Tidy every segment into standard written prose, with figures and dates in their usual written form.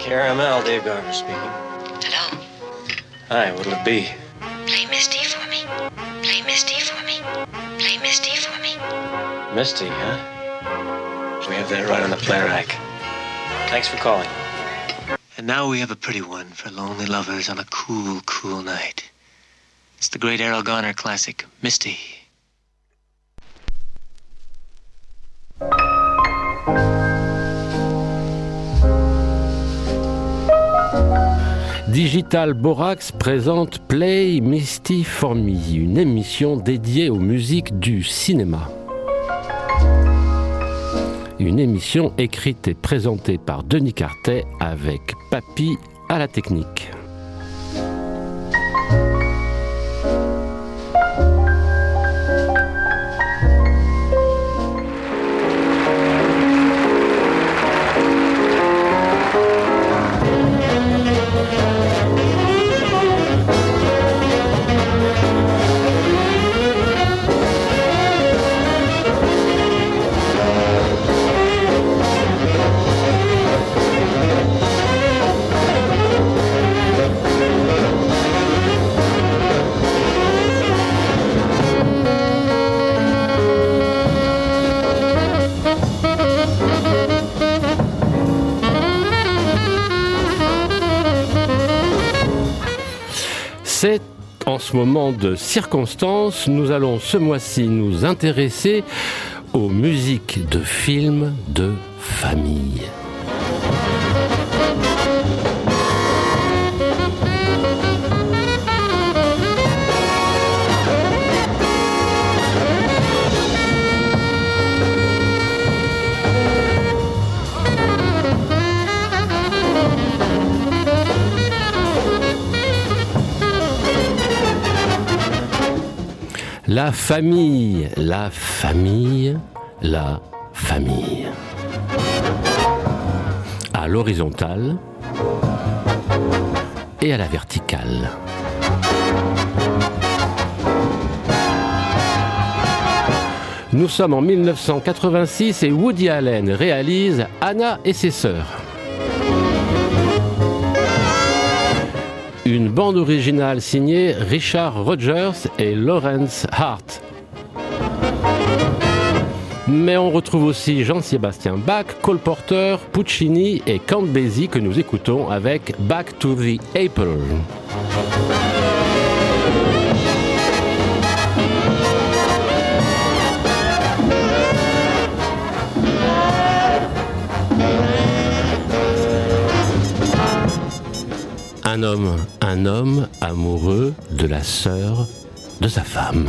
KRML, Dave Garver speaking. Hello? Hi, what'll it be? Play Misty for me. Play Misty for me. Play Misty for me. Misty, huh? We have that right on the play rack. Thanks for calling. And now we have a pretty one for lonely lovers on a cool, cool night. It's the great Errol Garner classic, Misty. Digital Borax présente Play Misty for Me, une émission dédiée aux musiques du cinéma. Une émission écrite et présentée par Denis Cartet avec Papy à la technique. C'est en ce moment de circonstance, nous allons ce mois-ci nous intéresser aux musiques de films de famille. La famille, la famille, la famille. À l'horizontale et à la verticale. Nous sommes en 1986 et Woody Allen réalise Anna et ses sœurs. Une bande originale signée Richard Rodgers et Lawrence Hart. Mais on retrouve aussi Jean-Sébastien Bach, Cole Porter, Puccini et Count Basie que nous écoutons avec Back to the Apple. Un homme amoureux de la sœur de sa femme.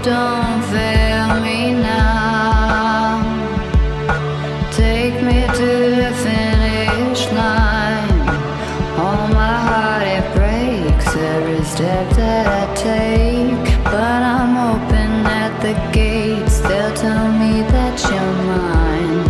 don't fail me now. Take me to the finish line. Oh, my heart, it breaks every step that I take. But I'm hoping at the gates they'll tell me that you're mine.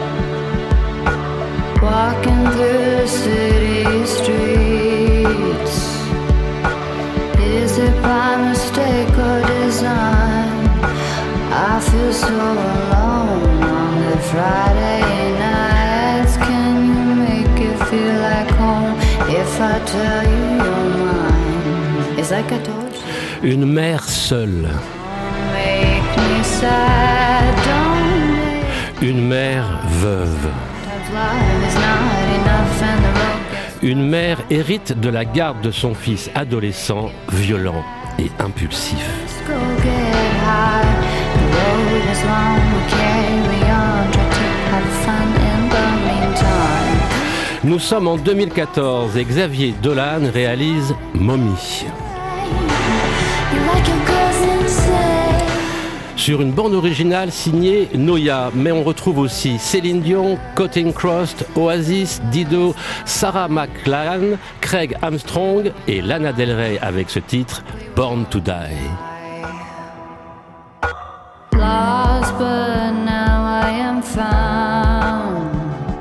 Walking through the city streets, is it by mistake or design? I feel so alone on the Friday nights. Can you make it feel like home if I tell you you're mine? It's like I told you. Une mère seule. Don't make me sad, don't make Une mère veuve. life is not enough and the road gets Une mère hérite de la garde de son fils adolescent, violent et impulsif. go get high. The road is long, we'll carry on. Try to have fun in the meantime. Nous sommes en 2014 et Xavier Dolan réalise Mommy. You like your girls insane. Sur une bande originale signée Noya, mais on retrouve aussi Céline Dion, Counting Cross, Oasis, Dido, Sarah McLachlan, Craig Armstrong et Lana Del Rey avec ce titre Born to Die. Lost, but now I am found.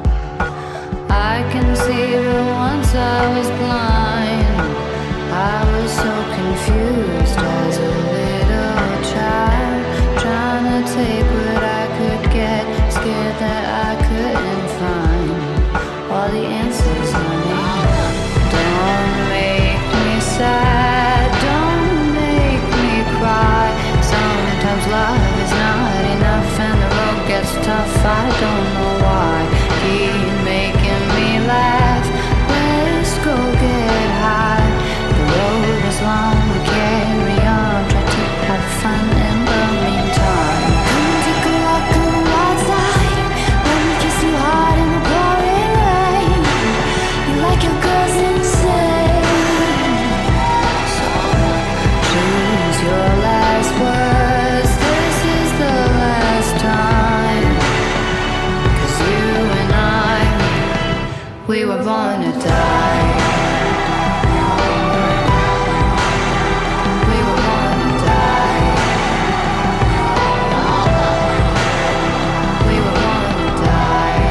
I can see that once I was blind. I was so confused as a little child, trying to take what I could get, scared that I couldn't find all the answers I need. Don't make me sad, don't make me cry. Sometimes love is not enough and the road gets tough. I don't know why. Keep making me laugh. Let's go get high. The road is long, we carry on. Try to have fun in the meantime. Come and take a walk on the wild side. Let me kiss you hard in the pouring rain. You like your girls insane. So choose your last words. This is the last time. 'Cause you and I, we were born to die. We were born to die. We were born to die.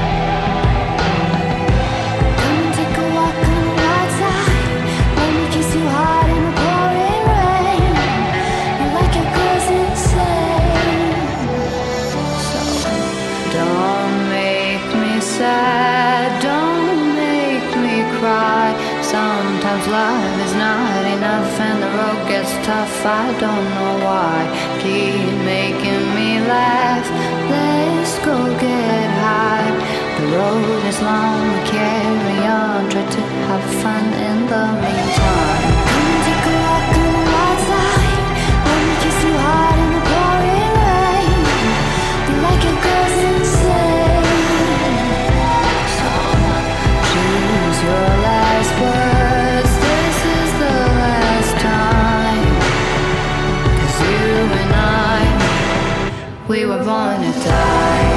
Come and take a walk on the wild side. Let me kiss you hard in the pouring rain. You like your girls insane. So don't make me sad, don't make me cry. Sometimes love is not enough and the road gets tough. I don't know why. Keep making me laugh. Let's go get high. The road is long, we carry on. Try to have fun in the meantime. Come and take a walk on the wild side. Let me kiss you hard in the pouring rain. You like your girls insane. So choose your last words. This is the last time. 'Cause you and I, we were born to die.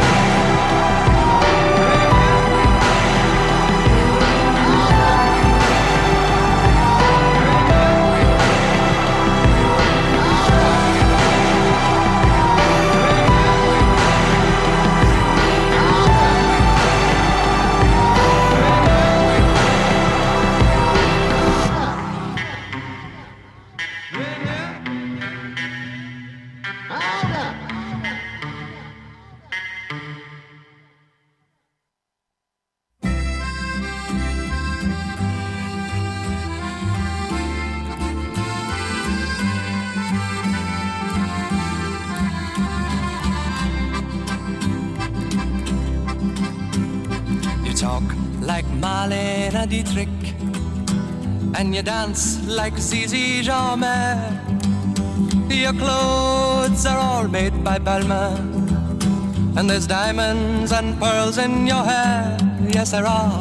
Talk like Marlene Dietrich, and you dance like Zizi Jeanmaire. Your clothes are all made by Balmain, and there's diamonds and pearls in your hair. Yes, there are.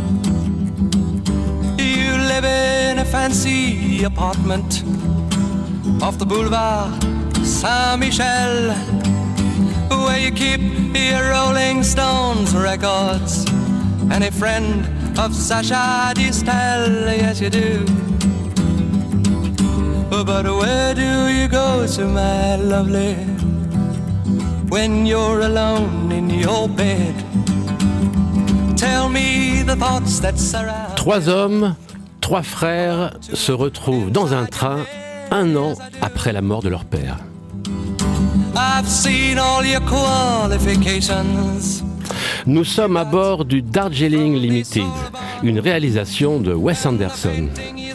You live in a fancy apartment off the boulevard Saint-Michel, where you keep your Rolling Stones records, and a friend of Sacha Distel, yes you do. But where do you go to, my lovely, when you're alone in your bed? Tell me the thoughts that surround. Trois hommes, trois frères se retrouvent dans un train 1 an après la mort de leur père. I've seen all your qualifications. Nous sommes à bord du Darjeeling Limited, une réalisation de Wes Anderson.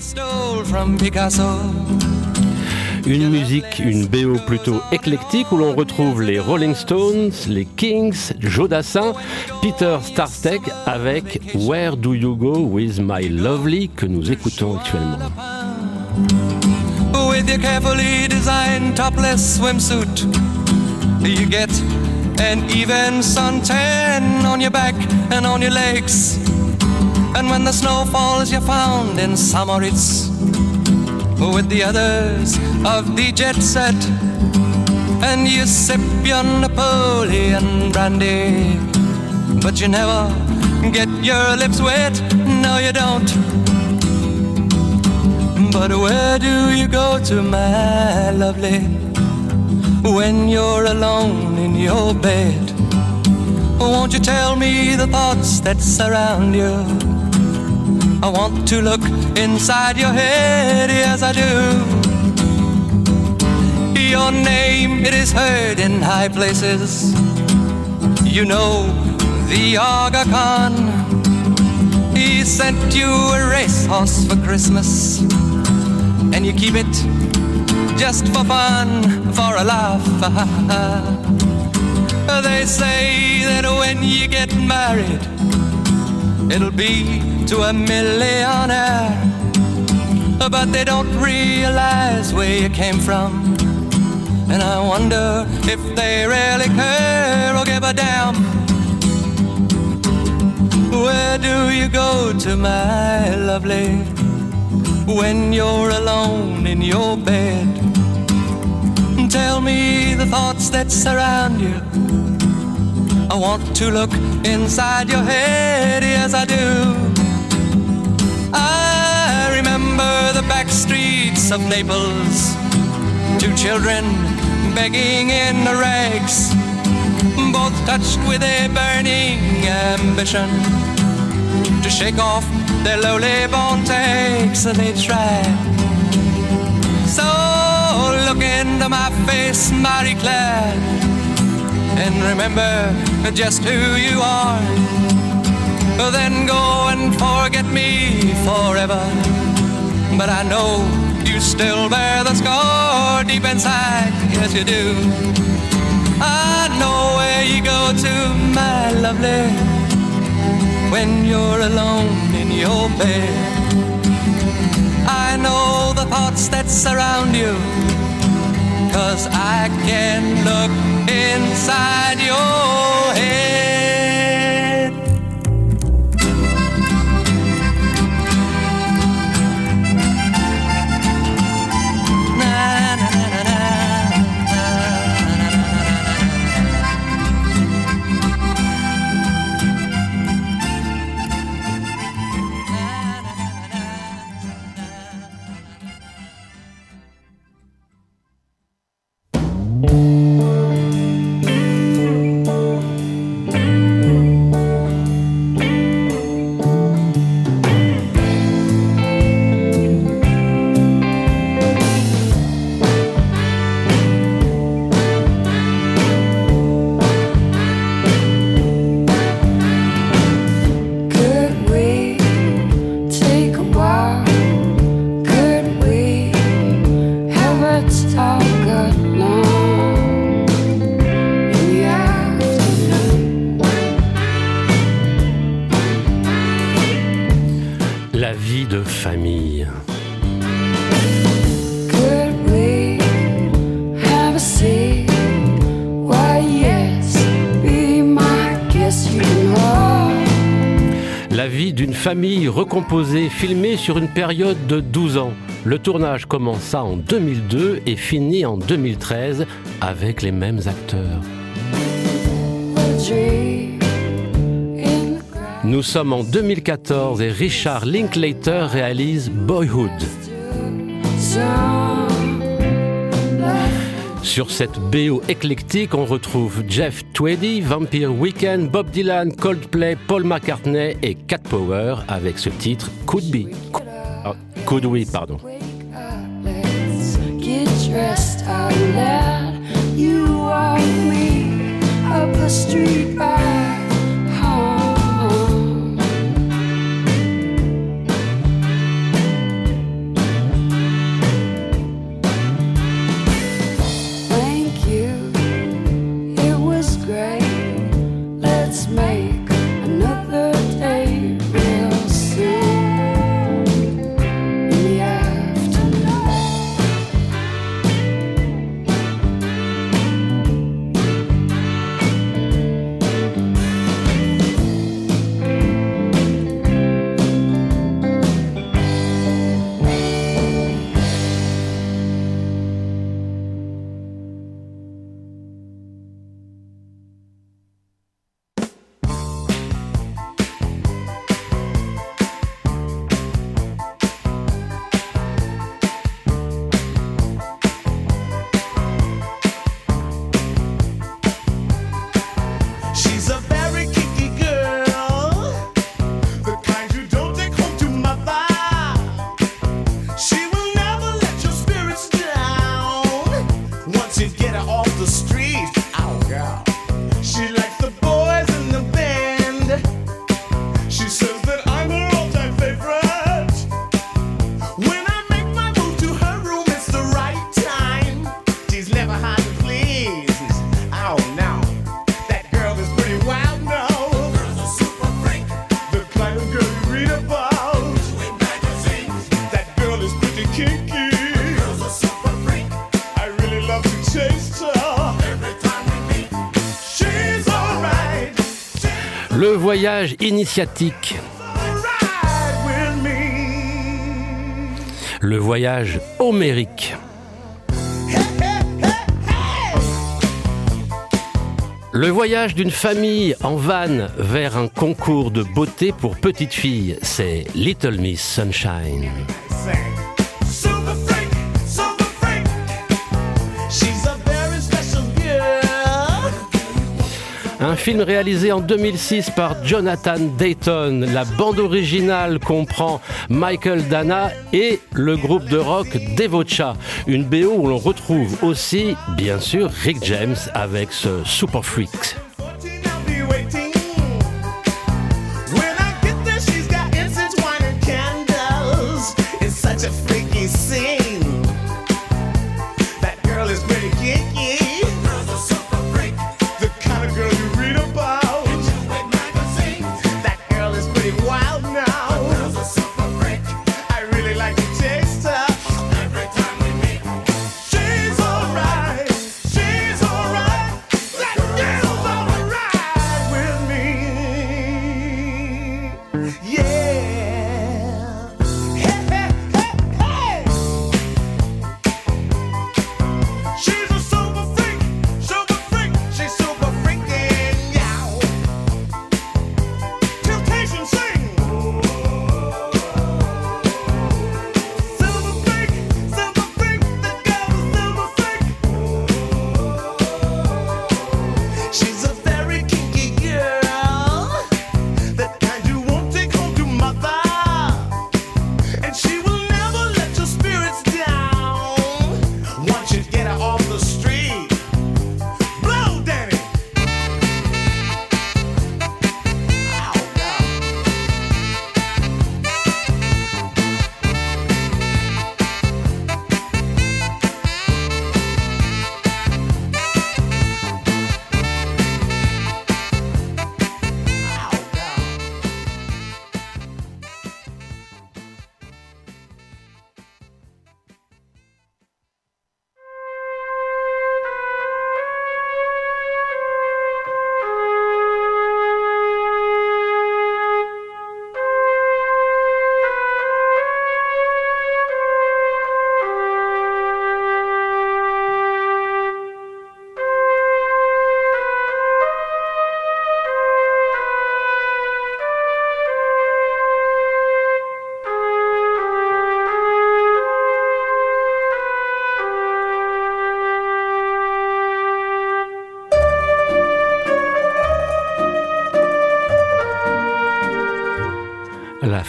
Une musique, une BO plutôt éclectique où l'on retrouve les Rolling Stones, les Kings, Joe Dassin, Peter Starstek avec Where Do You Go With My Lovely que nous écoutons actuellement. With your carefully designed topless swimsuit, you get an even suntan on your back and on your legs. And when the snow falls, you're found in Samoritz with the others of the jet set, and you sip your Napoleon brandy, but you never get your lips wet, no you don't. But where do you go to, my lovely, when you're alone in your bed? Won't you tell me the thoughts that surround you? I want to look inside your head, yes I do. Your name, it is heard in high places. You know the Aga Khan, he sent you a racehorse for Christmas, and you keep it just for fun, for a laugh. They say that when you get married, it'll be to a millionaire, but they don't realize where you came from, and I wonder if they really care or give a damn. Where do you go to, my lovely, when you're alone in your bed? Tell me the thoughts that surround you. I want to look inside your head, yes I do. I remember the back streets of Naples, 2 children begging in the rags, both touched with a burning ambition to shake off their lowly born takes. They try. So look into my face, Marie Claire, and remember just who you are. Then go and forget me forever, but I know you still bear the scar deep inside, yes you do. I know where you go to, my lovely, when you're alone in your bed. I know the thoughts that surround you, 'cause I can look inside your head. famille recomposée, filmée sur une période de 12 ans. Le tournage commença en 2002 et finit en 2013 avec les mêmes acteurs. Nous sommes en 2014 et Richard Linklater réalise Boyhood. Sur cette BO éclectique, on retrouve Jeff Tweedy, Vampire Weekend, Bob Dylan, Coldplay, Paul McCartney et Cat Power avec ce titre Could We, pardon. Le voyage initiatique. Le voyage homérique. Le voyage d'une famille en van vers un concours de beauté pour petites filles, c'est Little Miss Sunshine. Un film réalisé en 2006 par Jonathan Dayton. La bande originale comprend Michael Dana et le groupe de rock Devocha. Une BO où l'on retrouve aussi, bien sûr, Rick James avec ce Super Freak.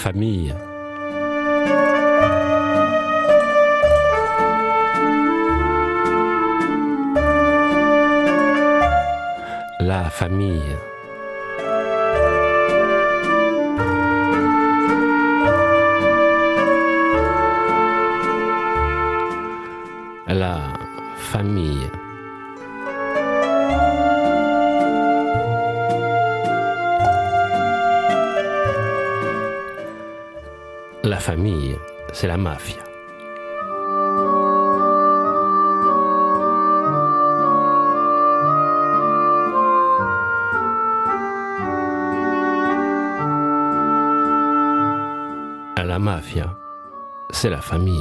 famille. La famille. La famille. La famille, c'est la mafia. La mafia, c'est la famille.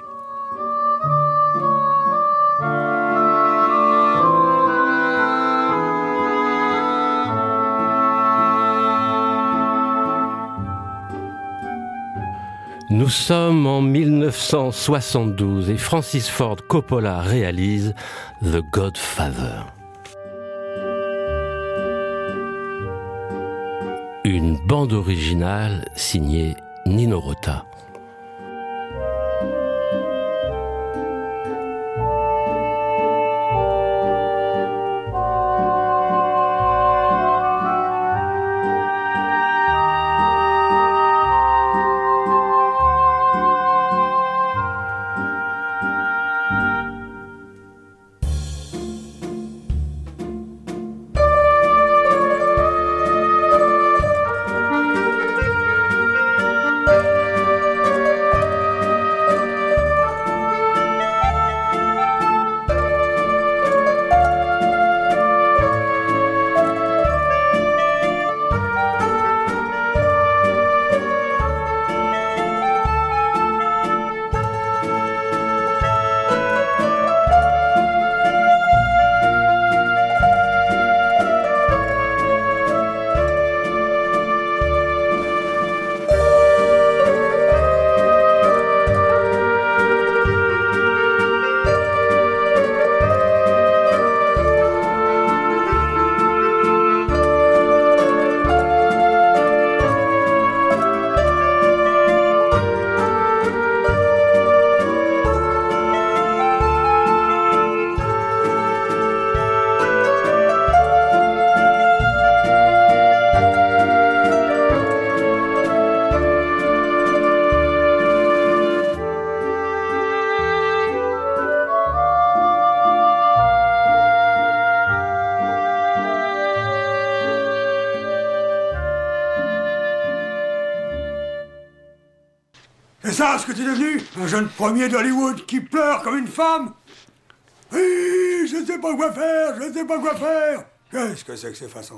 Nous sommes en 1972 et Francis Ford Coppola réalise The Godfather. Une bande originale signée Nino Rota. C'est ça ce que t'es devenu? Un jeune premier d'Hollywood qui pleure comme une femme? Oui, je ne sais pas quoi faire, je ne sais pas quoi faire. Qu'est-ce que c'est que ces façons?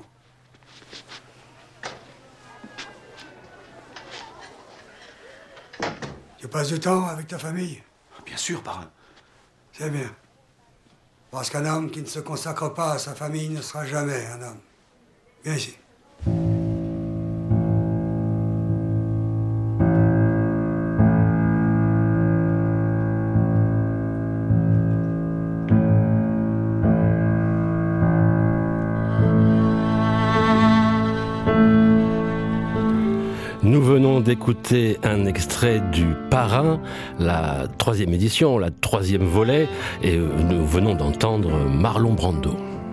Tu passes du temps avec ta famille? Bien sûr, parrain. C'est bien. Parce qu'un homme qui ne se consacre pas à sa famille ne sera jamais un homme. Viens ici. Nous venons d'écouter un extrait du Parrain, la 3e édition, la 3e volet, et nous venons d'entendre Marlon Brando.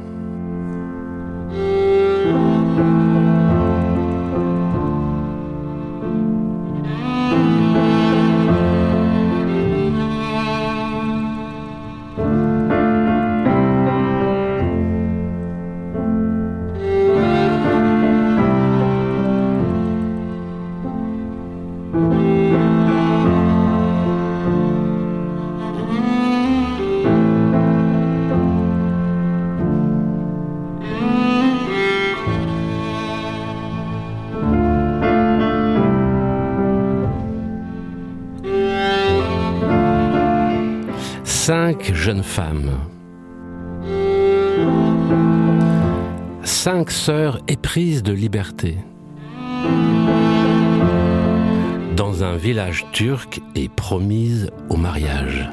Cinq jeunes femmes, 5 sœurs éprises de liberté, dans un village turc et promises au mariage.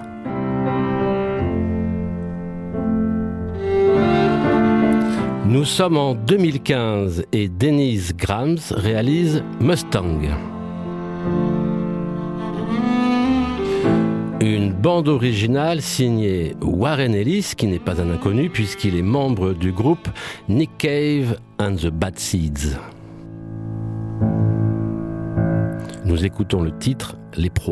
Nous sommes en 2015 et Denise Grams réalise Mustang. bande originale signée Warren Ellis, qui n'est pas un inconnu puisqu'il est membre du groupe Nick Cave and the Bad Seeds. Nous écoutons le titre « Les proies ».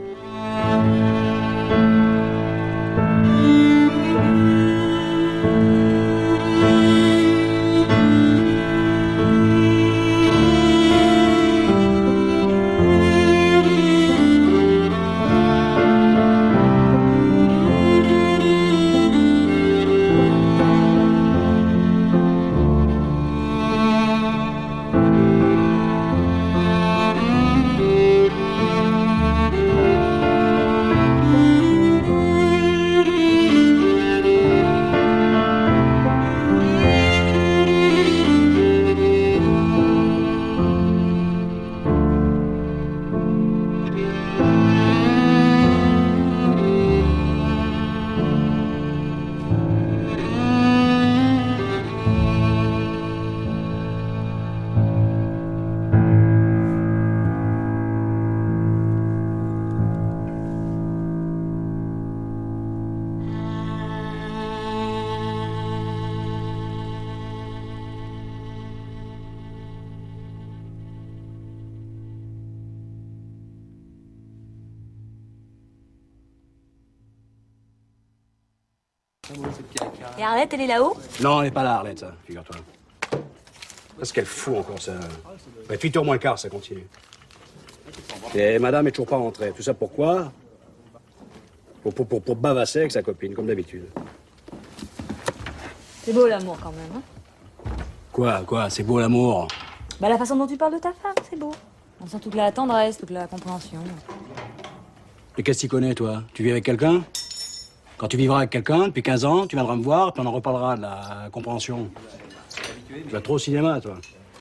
Et Arlette, elle est là-haut? Non, elle n'est pas là, Arlette, ça, figure-toi. Qu'est-ce qu'elle fout encore, ça? 8h moins le quart, ça continue. Et madame est toujours pas rentrée. Tout ça pourquoi? Pour bavasser avec sa copine, comme d'habitude. C'est beau l'amour quand même, hein? Quoi? C'est beau l'amour? Bah la façon dont tu parles de ta femme, c'est beau. On sent toute la tendresse, toute la compréhension. Et qu'est-ce que tu connais, toi? Tu vis avec quelqu'un? Quand tu vivras avec quelqu'un, depuis 15 ans, tu viendras me voir, puis on en reparlera de la compréhension. Tu vas trop au cinéma, toi.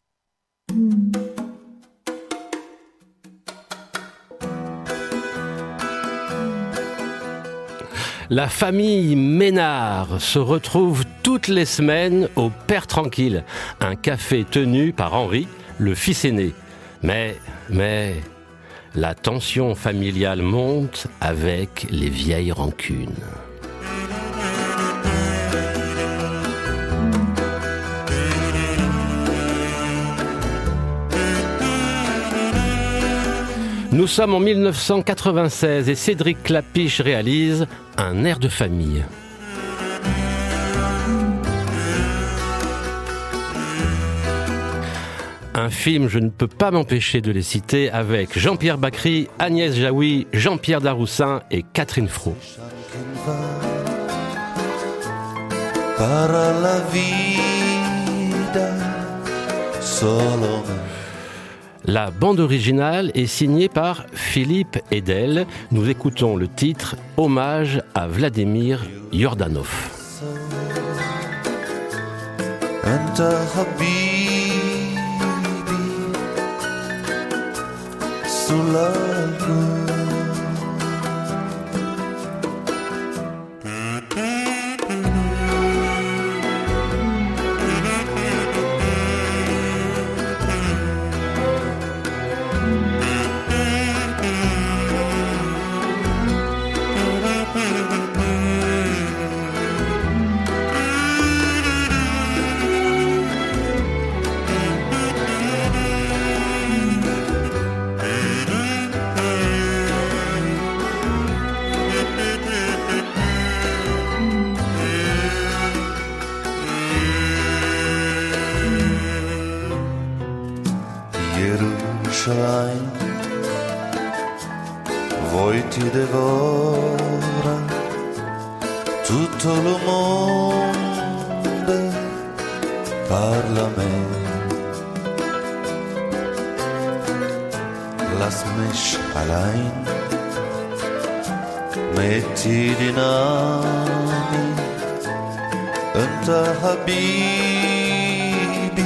La famille Ménard se retrouve toutes les semaines au Père Tranquille, un café tenu par Henri, le fils aîné. Mais, la tension familiale monte avec les vieilles rancunes. Nous sommes en 1996 et Cédric Klapisch réalise Un air de famille. Un film, je ne peux pas m'empêcher de les citer, avec Jean-Pierre Bacri, Agnès Jaoui, Jean-Pierre Daroussin et Catherine Fro. La bande originale est signée par Philippe Edel. Nous écoutons le titre Hommage à Vladimir Yordanov. Jerusalem, vuoi ti devora tutto il mondo, parla a me, lass mich allein, metti dinami, unter Habibi,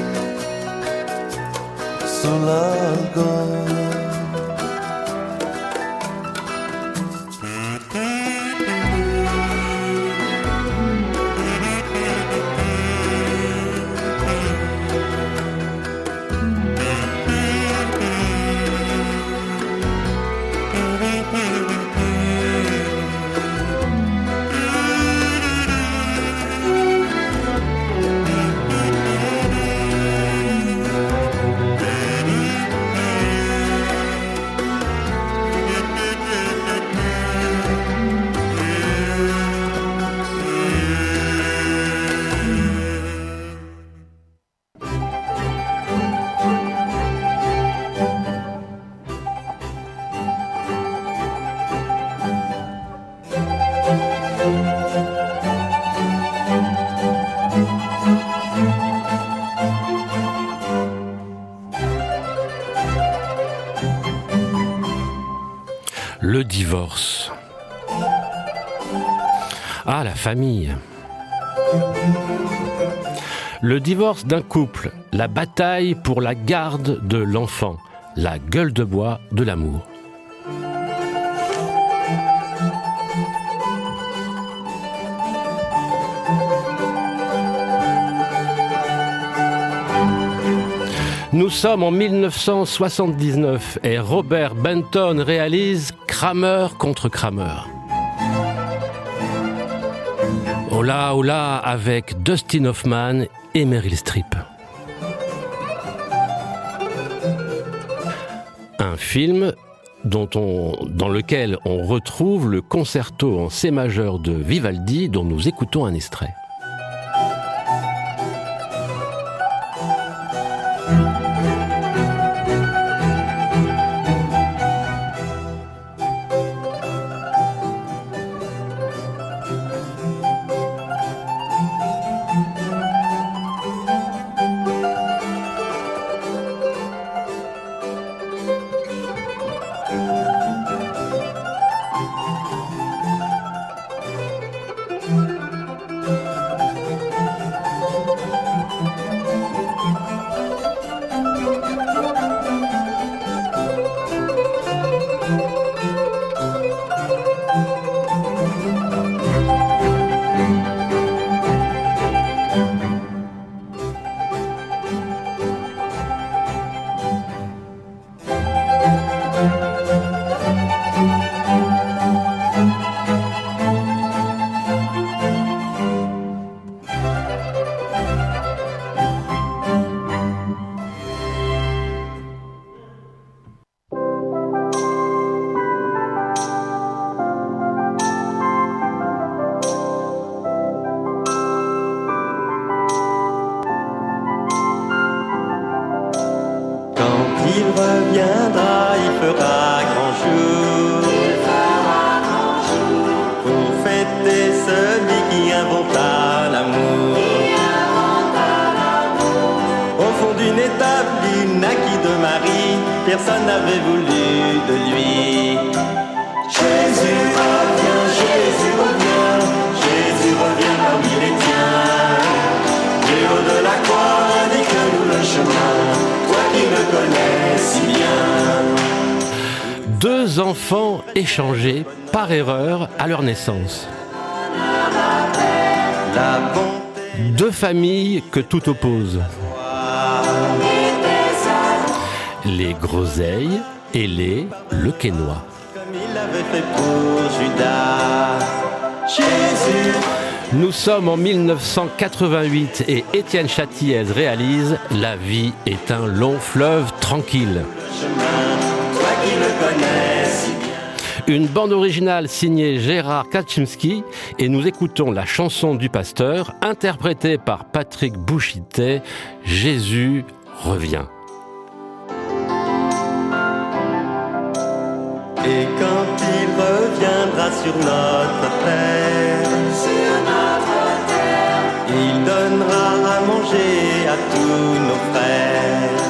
sull'algo. Ah, la famille. Le divorce d'un couple, la bataille pour la garde de l'enfant, la gueule de bois de l'amour. Nous sommes en 1979 et Robert Benton réalise Kramer contre Kramer. Hola, hola avec Dustin Hoffman et Meryl Streep. Un film dans lequel on retrouve le concerto en C majeur de Vivaldi dont nous écoutons un extrait. Il reviendra, il fera grand jour. Pour fêter celui qui inventa l'amour. Au fond d'une étape, il naquit de Marie. Personne n'avait voulu de lui. Jésus revient, Jésus revient. Jésus revient parmi les tiens. Du haut de la croix, indique-nous le chemin. Toi qui me connais si bien. Deux enfants échangés par erreur à leur naissance. Deux familles que tout oppose. Les Groseilles et les Lequesnois. Comme il l'avait fait pour Judas. Jésus. Nous sommes en 1988 et Étienne Châtiez réalise La vie est un long fleuve tranquille. Une bande originale signée Gérard Kaczynski et nous écoutons la chanson du pasteur interprétée par Patrick Bouchité, Jésus revient. Et quand il reviendra sur notre terre, il donnera à manger à tous nos frères.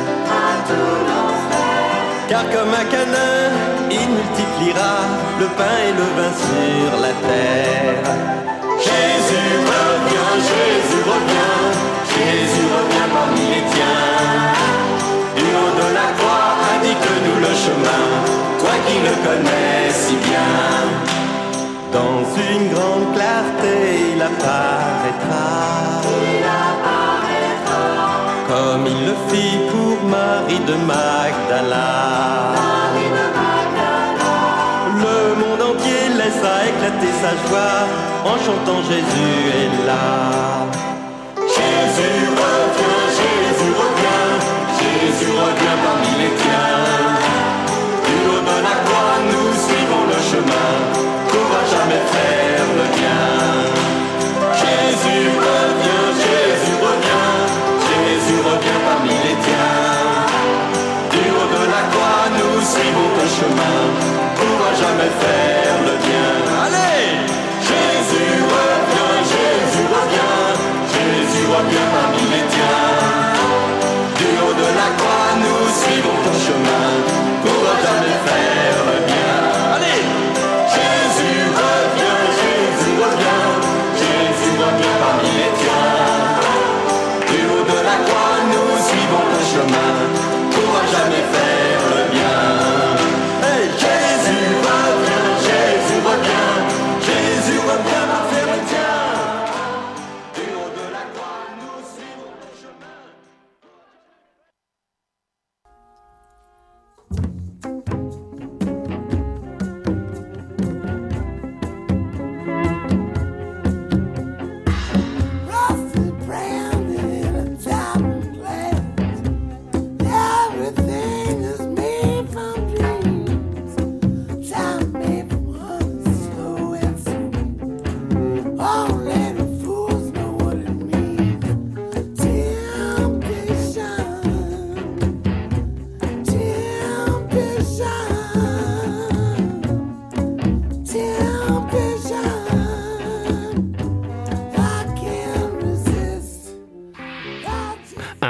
Car comme à Canaan, il multipliera le pain et le vin sur la terre. Jésus revient, Jésus revient, Jésus revient parmi les tiens. Du haut de la croix, indique-nous le chemin, toi qui le connais si bien. Dans une grande clarté, il apparaîtra. Comme il le fit pour Marie de Magdala. Le monde entier laissa éclater sa joie en chantant Jésus est là. Jésus revient, Jésus revient, Jésus revient parmi les tiens. Du haut de la croix, nous suivons le chemin, pourra jamais faire le bien. Jésus revient, Jésus revient, Jésus revient parmi les tiens. Du haut de la croix, nous suivons le chemin, pourra jamais faire le bien. Allez! Jésus revient, Jésus revient, Jésus revient parmi les tiens. Du haut de la croix, nous suivons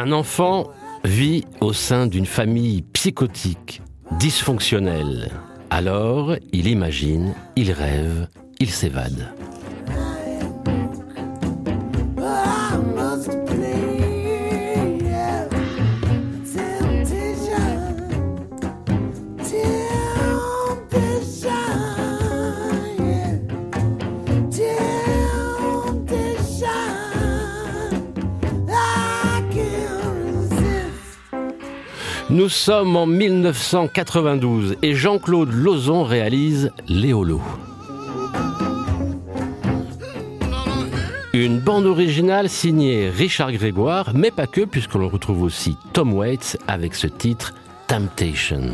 Un enfant vit au sein d'une famille psychotique, dysfonctionnelle. Alors, il imagine, il rêve, il s'évade. Nous sommes en 1992 et Jean-Claude Lauzon réalise Léolo. Une bande originale signée Richard Grégoire, mais pas que, puisqu'on retrouve aussi Tom Waits avec ce titre Temptation.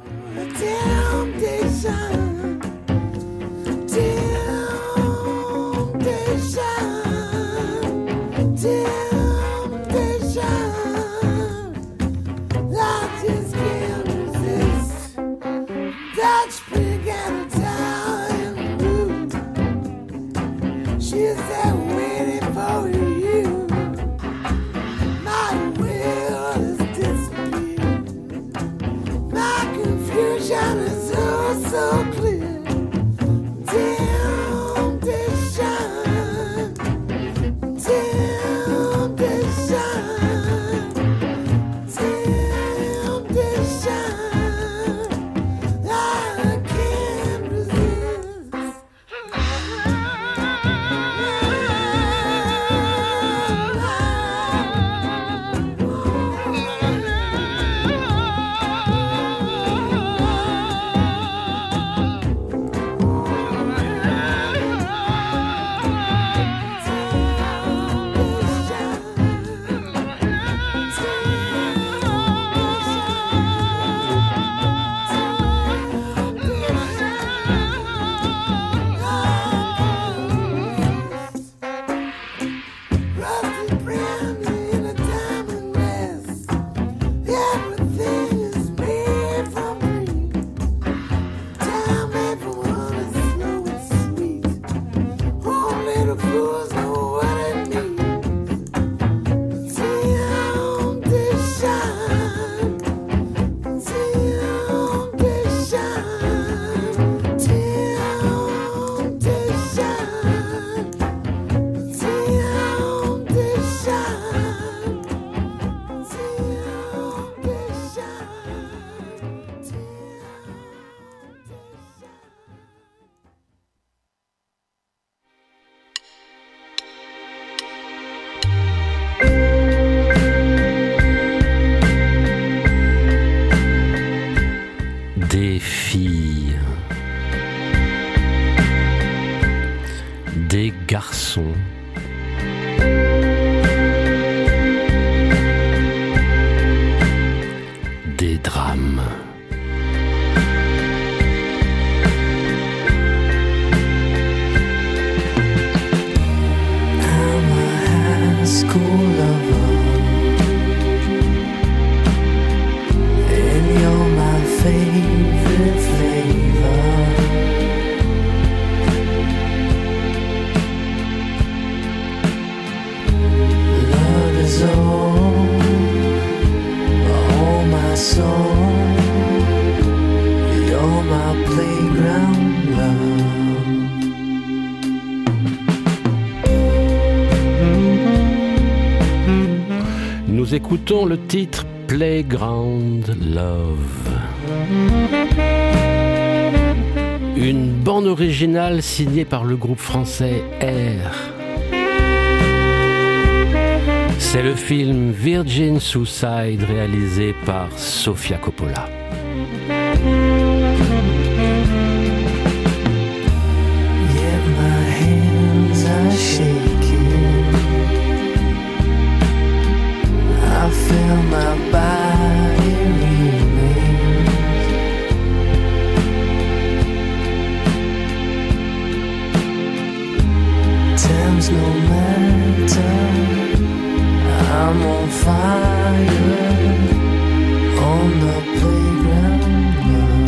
Des filles, des garçons, des drames. I'm a high school lover, and you're my favorite flavor. Love is all my soul. You're my playground love. Nous écoutons le titre Playground Love. Une bande originale signée par le groupe français R. C'est le film Virgin Suicide réalisé par Sofia Coppola. Yet my hands are shaking. I feel my body remains. Time's no matter. I'm on fire on the playground love.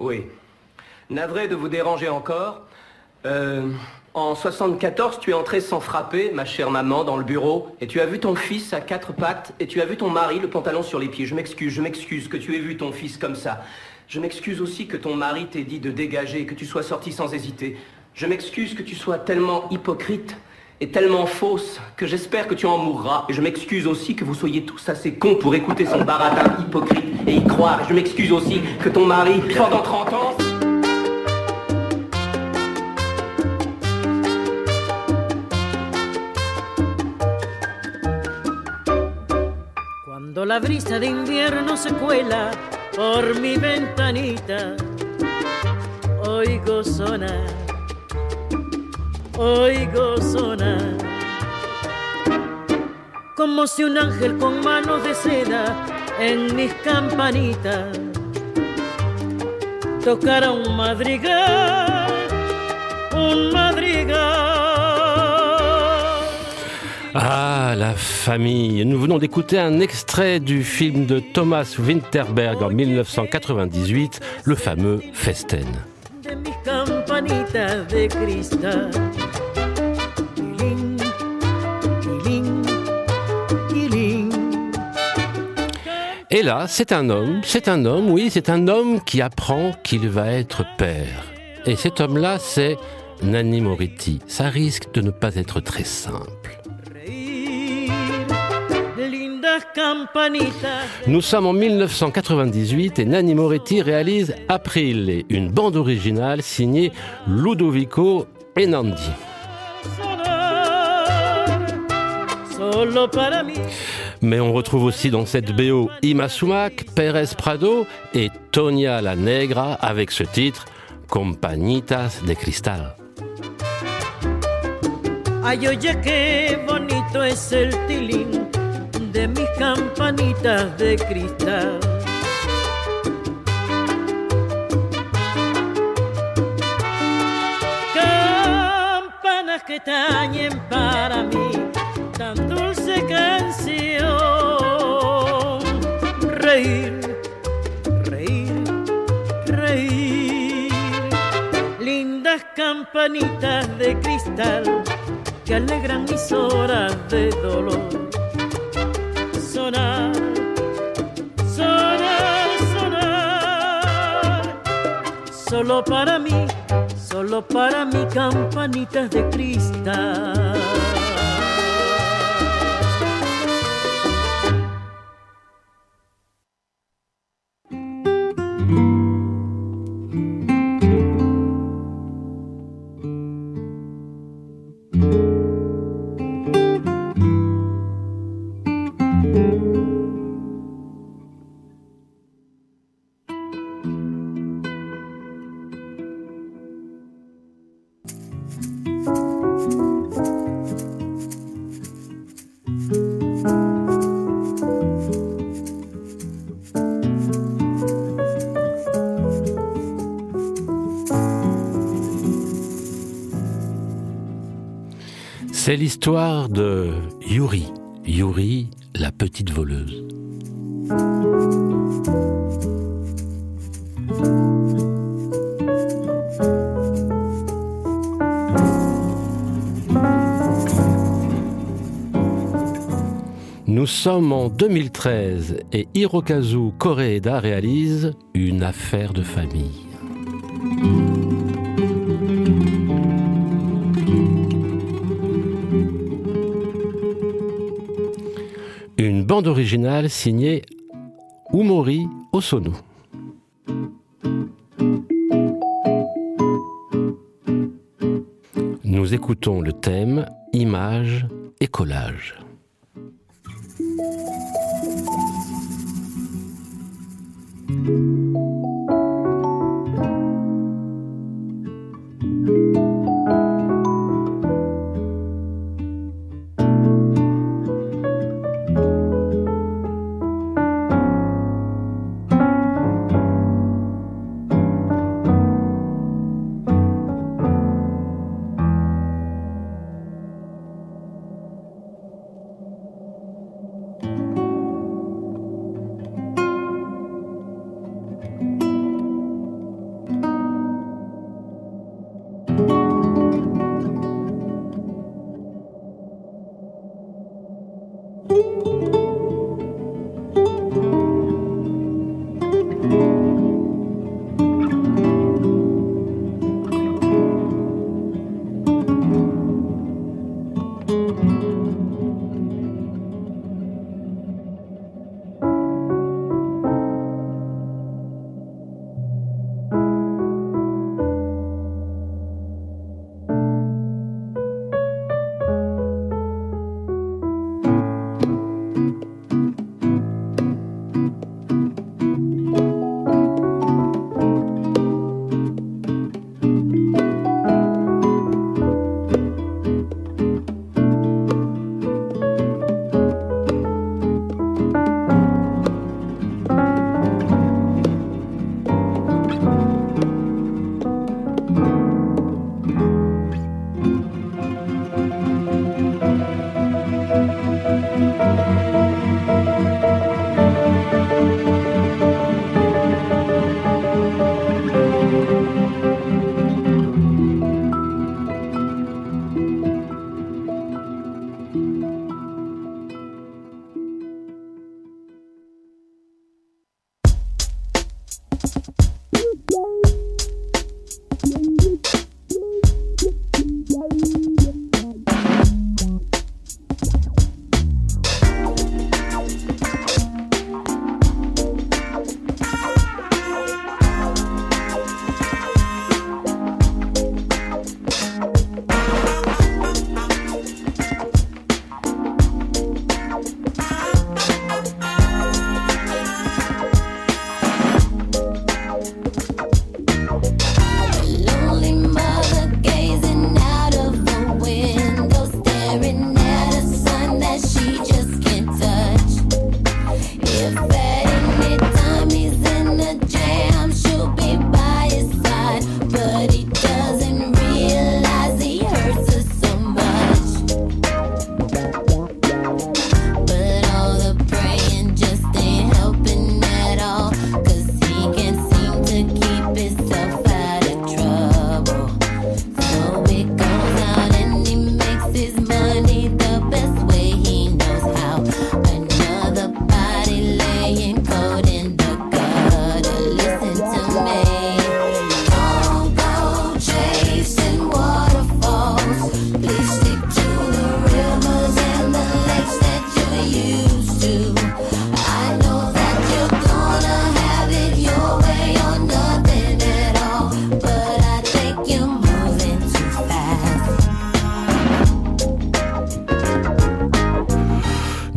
avouer. Navré de vous déranger encore. En 74, tu es entrée sans frapper, ma chère maman, dans le bureau, et tu as vu ton fils à 4 pattes, et tu as vu ton mari, le pantalon sur les pieds. Je m'excuse que tu aies vu ton fils comme ça. Je m'excuse aussi que ton mari t'ait dit de dégager et que tu sois sortie sans hésiter. Je m'excuse que tu sois tellement hypocrite et tellement fausse que j'espère que tu en mourras. Et je m'excuse aussi que vous soyez tous assez cons pour écouter son baratin hypocrite et y croire. Et je m'excuse aussi que ton mari, pendant 30 ans... Cuando la brisa de invierno se cuela por mi ventanita, oigo sonar, como si un ángel con manos de seda en mis campanitas tocara un madrigal, un madrigal. Ah, la famille. Nous venons d'écouter un extrait du film de Thomas Winterberg en 1998, le fameux Festen. De mis campanitas de cristal. Tiling, tiling, tiling. Et là, c'est un homme, oui, c'est un homme qui apprend qu'il va être père. Et cet homme-là, c'est Nanni Moretti. Ça risque de ne pas être très simple. Nous sommes en 1998 et Nanni Moretti réalise Aprile, une bande originale signée Ludovico Einaudi. Mais on retrouve aussi dans cette BO Ima Sumac, Pérez Prado et Tonia la Negra avec ce titre Compañitas de Cristal. Ay, oye, qué bonito es el tilín de mis campanitas de cristal. Campanas que tañen para mí tan dulce canción. Reír, reír, reír. Lindas campanitas de cristal que alegran mis horas de dolor. Sonar, sonar, sonar. Solo para mí campanitas de cristal. C'est l'histoire de Yuri, la petite voleuse. Nous sommes en 2013 et Hirokazu Koreeda réalise Une affaire de famille. Une bande originale signée Umori Osono. Nous écoutons le thème Images et collages.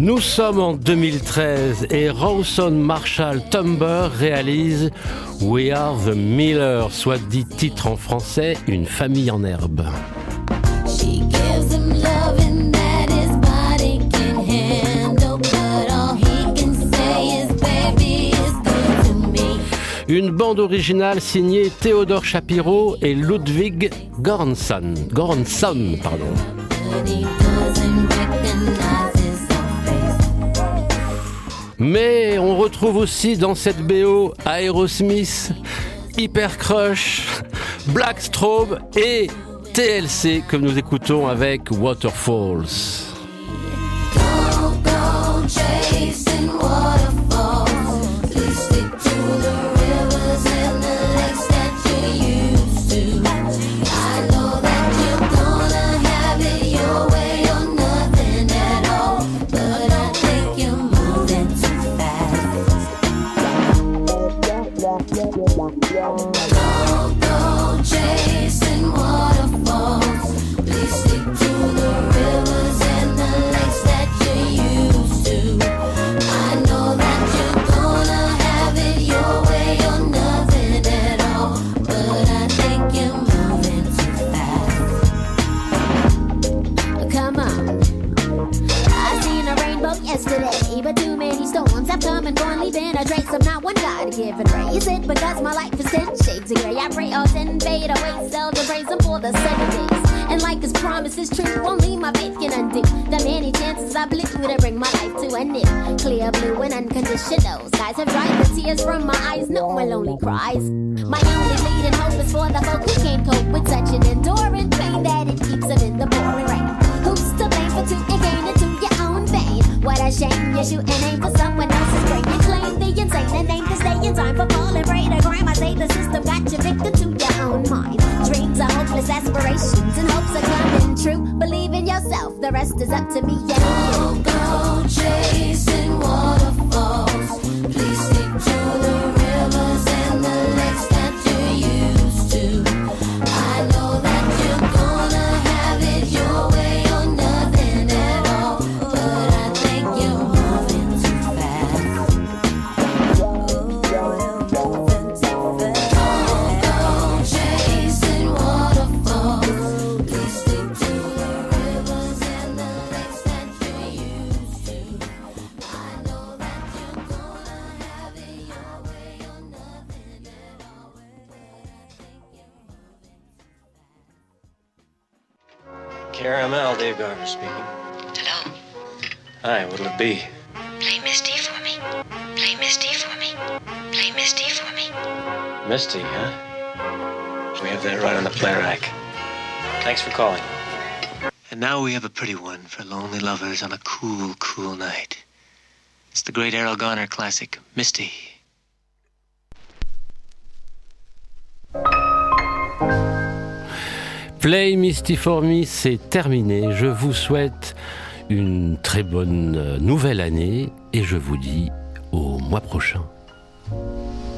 Nous sommes en 2013 et Rawson Marshall Tumber réalise We Are the Miller, soit dit titre en français, Une famille en herbe. Une bande originale signée Théodore Shapiro et Ludwig Göransson. Mais on retrouve aussi dans cette BO Aerosmith, Hypercrush, Black Strobe et TLC que nous écoutons avec Waterfalls. Cries. My only leading hope is for the folk who can't cope with such an enduring pain that it keeps them in the pouring rain. Who's to blame for tooting gain into your own vein? What a shame you shoot and aim for someone else's brain. You claim the insane and aim to stay in time for falling prey to crime. I say the system got you victim to your own mind. Dreams are hopeless aspirations and hopes are coming true. Believe in yourself, the rest is up to me and you. Go chasing waterfalls. Please stick to the rivers and the lakes that you used to. I know that you're gonna have it your way or nothing at all, but I think you're moving too fast. Go chasing waterfalls. Please stick to the rivers and the lakes that you used to. I know that you're gonna have it your way or nothing at all, but I think you're moving too fast. Caramel, Dave Garver speaking. Hello? Hi, what'll it be? Play Misty for me. Play Misty for me. Play Misty for me. Misty, huh? We have that right on the play rack. Thanks for calling. And now we have a pretty one for lonely lovers on a cool, cool night. It's the great Errol Garner classic, Misty. Play Misty for Me, c'est terminé. Je vous souhaite une très bonne nouvelle année et je vous dis au mois prochain.